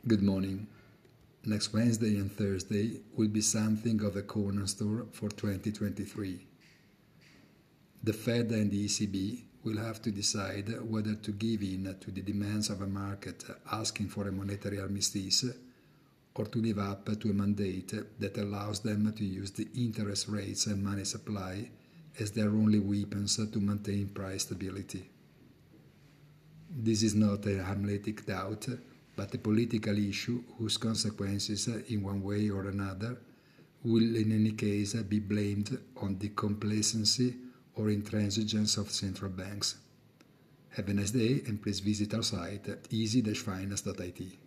Good morning. Next Wednesday and Thursday will be something of a cornerstone for 2023. The Fed and the ECB will have to decide whether to give in to the demands of a market asking for a monetary armistice or to live up to a mandate that allows them to use the interest rates and money supply as their only weapons to maintain price stability. This is not a Hamletic doubt, but a political issue whose consequences, in one way or another, will in any case be blamed on the complacency or intransigence of central banks. Have a nice day and please visit our site at easy-finance.it.